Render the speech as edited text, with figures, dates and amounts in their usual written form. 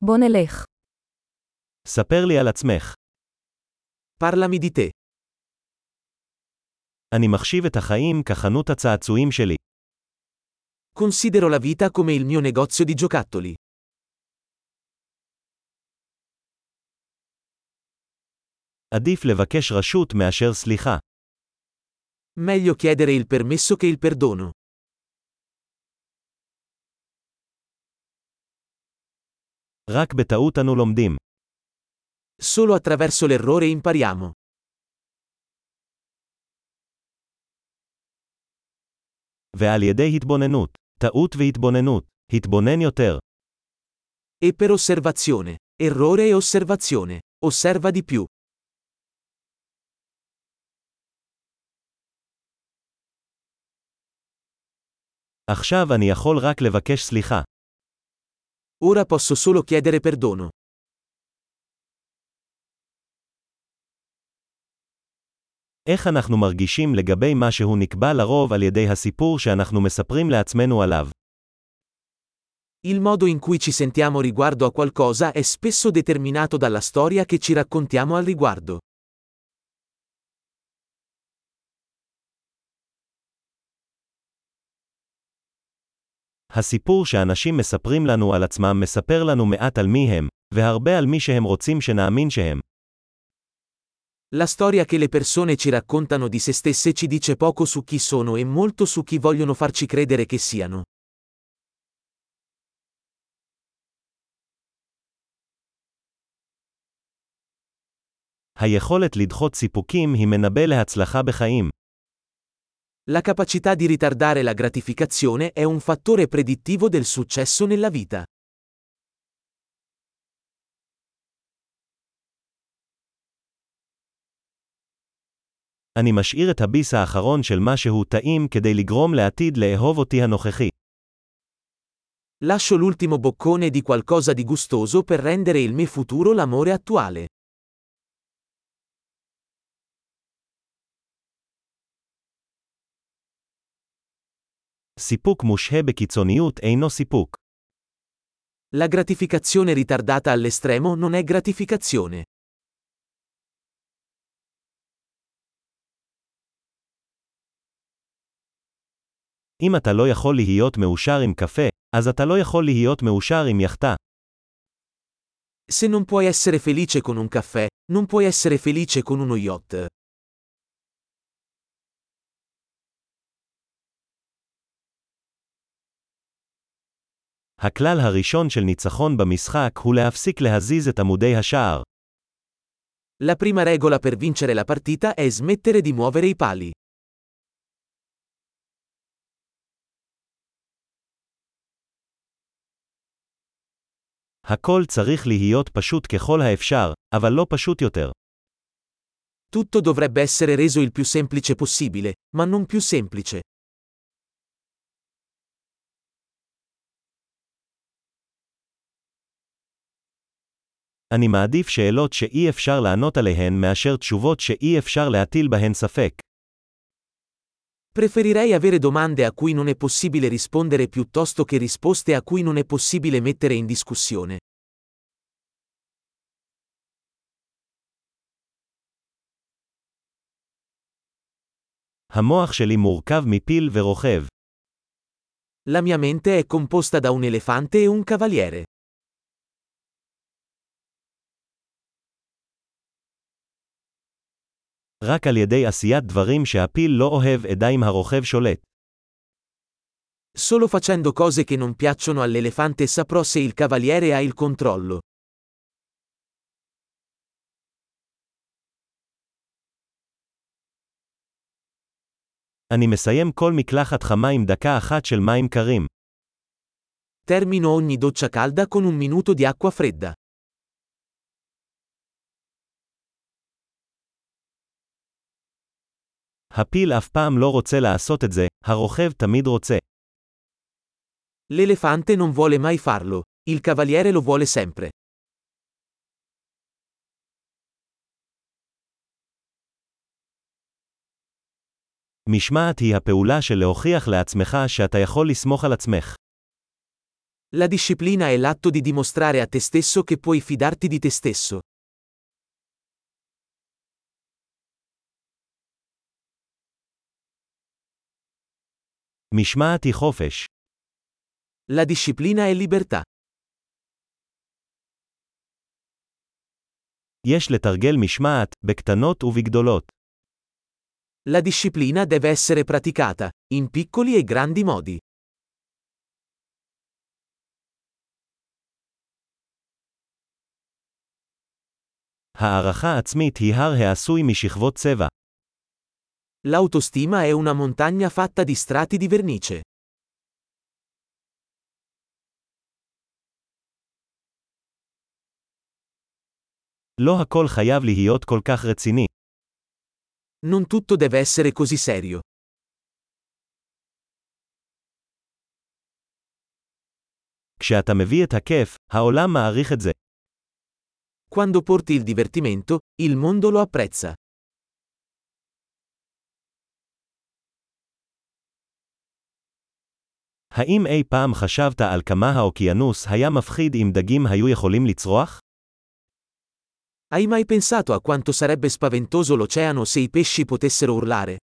בוא נלך. ספר לי על עצמך. Parlami di te. אני מחשיב את החיים כחנות הצעצועים שלי. Considero la vita come il mio negozio di giocattoli. עדיף לבקש רשות מאשר סליחה. Meglio chiedere il permesso che il perdono. רק בטעות אנו לומדים. Solo attraverso l'errore impariamo. ועל ידי התבוננות. טעות והתבוננות. התבונן יותר. E per osservazione. Errore e osservazione. Osserva di più. עכשיו אני יכול רק לבקש סליחה. Ora posso solo chiedere perdono. איך אנחנו מרגישים לגבי מה שהוא נקבע לרוב על ידי הסיפור שאנחנו מספרים לעצמנו עליו? Il modo in cui ci sentiamo riguardo a qualcosa è spesso determinato dalla storia che ci raccontiamo al riguardo. הסיפור שאנשים מספרים לנו על עצמם מספר לנו מעט על מי הם, והרבה על מי שהם רוצים שנאמין שהם. La storia che le persone ci raccontano di se stesse ci dice poco su chi sono e molto su chi vogliono farci credere che siano. היכולת לדחות סיפוקים היא מנבא להצלחה בחיים. La capacità di ritardare la gratificazione è un fattore predittivo del successo nella vita. אני משאיר את הביס האחרון של משהו טעים כדי לגרום לעתיד לאהוב אותי הנוכחי. Lascio l'ultimo boccone di qualcosa di gustoso per rendere il me futuro l'amore attuale. סיפוק מושהה בקיצוניות אינו סיפוק. La gratificazione ritardata all'estremo non è gratificazione. אם אתה לא יכול להיות מאושר עם קפה, אז אתה לא יכול להיות מאושר עם יחטה. Se non puoi essere felice con un caffè, non puoi essere felice con uno yacht. הכלל הראשון של ניצחון במשחק הוא להפסיק להזיז את עמודי השער. La prima regola per vincere la partita è smettere di muovere i pali. הכל צריך להיות פשוט ככל האפשר, אבל לא פשוט יותר. Tutto dovrebbe essere reso il più semplice possibile, ma non più semplice. אני מעדיף שאלות שאי אפשר לענות עליהן מאשר תשובות שאי אפשר להטיל בהן ספק. Preferirei avere domande a cui non è possibile rispondere piuttosto che risposte a cui non è possibile mettere in discussione. המוח שלי מורכב מפיל ורוכב. La mia mente è composta da un elefante e un cavaliere. רק על ידי עשיית דברים שהפיל לא אוהב אדע אם הרוכב שולט. Solo facendo cose che non piacciono all'elefante saprò se il cavaliere ha il controllo. אני מסיים כל מקלחת חמה עם דקה אחת של מים קרים. Termino ogni doccia calda con un minuto di acqua fredda. הפיל אף פעם לא רוצה לעשות את זה, הרוכב תמיד רוצה. L'elefante non vuole mai farlo, il cavaliere lo vuole sempre. משמעת היא הפעולה של להוכיח לעצמך שאתה יכול לסמוך על עצמך. La disciplina è l'atto di dimostrare a te stesso che puoi fidarti di te stesso. משמעת היא חופש. La disciplina è libertà. יש לתרגל משמעת, בקטנות ובגדולות. La disciplina deve essere praticata, in piccoli e grandi modi. הערכה עצמית היא הר העשוי משכבות צבע. L'autostima è una montagna fatta di strati di vernice. לא הכל חייב להיות כל כך רציני. Non tutto deve essere così serio. כשאתה מביא את הכיף, העולם מעריך את זה. Quando porti il divertimento, il mondo lo apprezza. האם אי פעם חשבת על כמה האוקיינוס היה מפחיד אם דגים היו יכולים לצרוח? Hai mai pensato a quanto sarebbe spaventoso l'oceano se i pesci potessero urlare?